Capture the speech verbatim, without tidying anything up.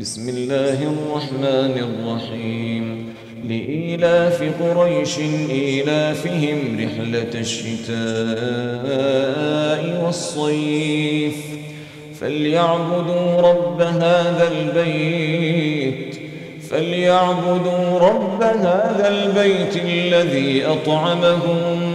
بسم الله الرحمن الرحيم لإيلاف قريش إيلافهم رحلة الشتاء والصيف فليعبدوا رب هذا البيت فليعبدوا رب هذا البيت الذي أطعمهم